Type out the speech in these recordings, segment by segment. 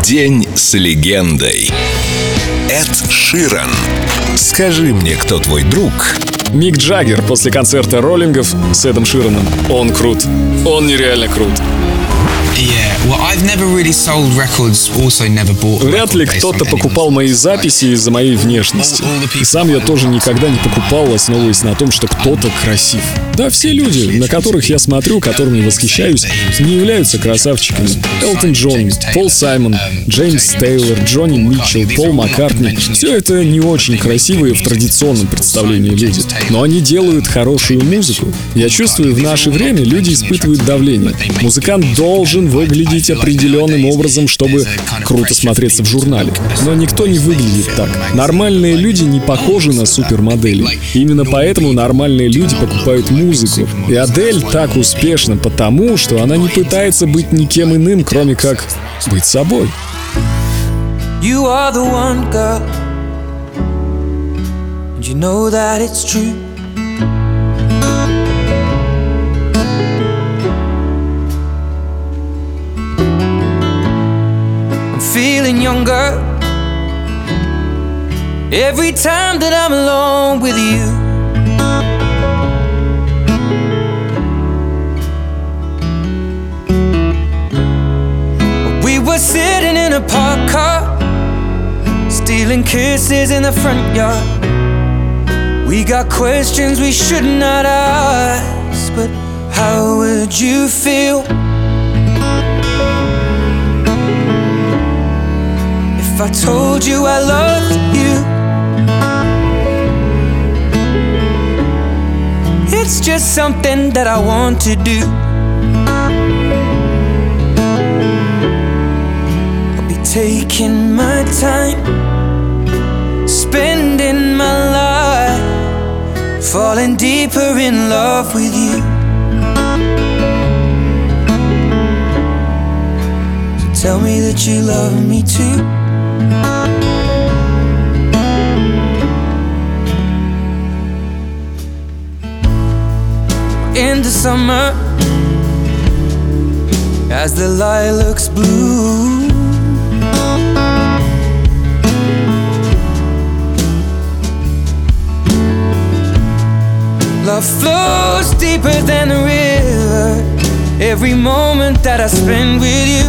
День с легендой. Эд Ширан. Скажи мне, кто твой друг? Мик Джаггер после концерта роллингов с Эдом Шираном. Он крут. Он нереально крут. Вряд ли кто-то покупал мои записи из-за моей внешности. И сам я тоже никогда не покупал, основываясь на том, что кто-то красив. Да, все люди, на которых я смотрю, которыми восхищаюсь, не являются красавчиками. Элтон Джон, Пол Саймон, Джеймс Тейлор, Джонни Митчелл, Пол Маккартни — все это не очень красивые в традиционном представлении люди. Но они делают хорошую музыку. Я чувствую, в наше время люди испытывают давление. Музыкант должен выглядеть определенным образом, чтобы круто смотреться в журнале. Но никто не выглядит так. Нормальные люди не похожи на супермоделей. Именно поэтому нормальные люди покупают музыку. И Адель так успешна потому, что она не пытается быть никем иным, кроме как быть собой. You are the one, girl, and you know that it's true. I'm feeling younger every time that I'm alone with you. We were sitting in a parked car, stealing kisses in the front yard. We got questions we should not ask, but how would you feel if I told you I loved you? It's just something that I want to do. I'll be taking my time, spending my life, falling deeper in love with you. So tell me that you love me too. In the summer, as the lilacs bloom, love flows deeper than the river. Every moment that I spend with you,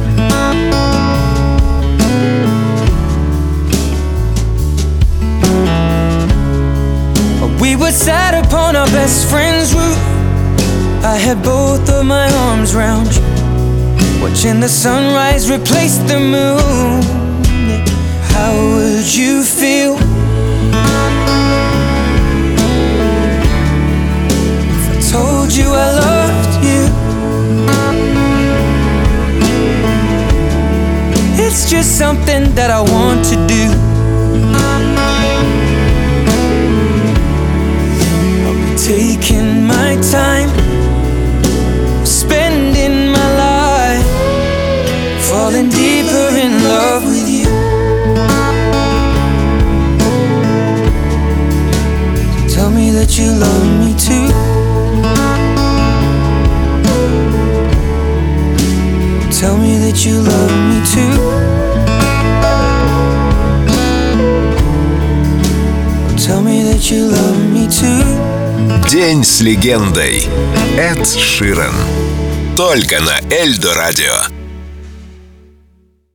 we were sat upon our best friend's roof. I had both of my arms round you, watching the sunrise replace the moon. How would you feel told you I loved you? It's just something that I want to do. I'll be taking my time, spending my life, falling deeper in love with you. So tell me that you love me too. Tell me that you love me too. Tell me that you love me too. День с легендой. Эд Ширан. Только на Эльдо Радио.